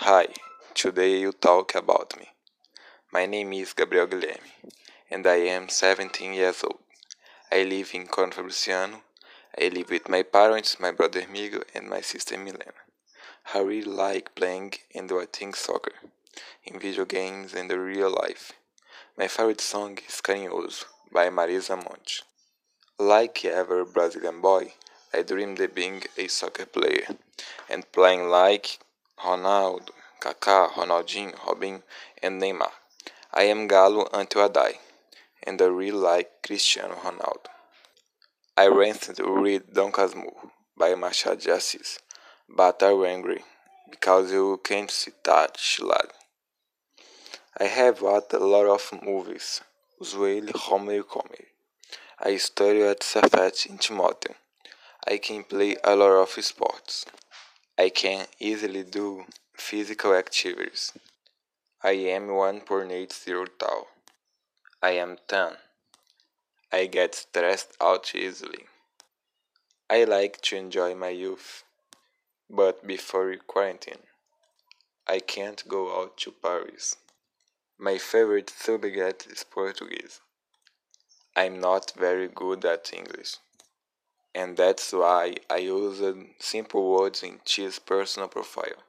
Hi, today you talk about me. My name is Gabriel Guilherme, and I am 17 years old. I live in Coronel Fabriciano. I live with my parents, my brother Miguel, and my sister Milena. I really like playing and watching soccer, in video games and in real life. My favorite song is Carinhoso by Marisa Monte. Like every Brazilian boy, I dreamed of being a soccer player and playing like Ronaldo, Kaká, Ronaldinho, Robinho, and Neymar. I am Galo until I die, and I really like Cristiano Ronaldo. I recently read Dom Casmurro by Machado de Assis, but I'm angry because you can't see that Chilad. I have watched a lot of movies, usually Homer comedy. I study at Cefet in Timóteo. I can play a lot of sports. I can easily do physical activities. I am 1.80 tall. I am 10. I get stressed out easily. I like to enjoy my youth, but before quarantine, I can't go out to Paris. My favorite subject is Portuguese. I'm not very good at English, and that's why I use simple words in T's personal profile.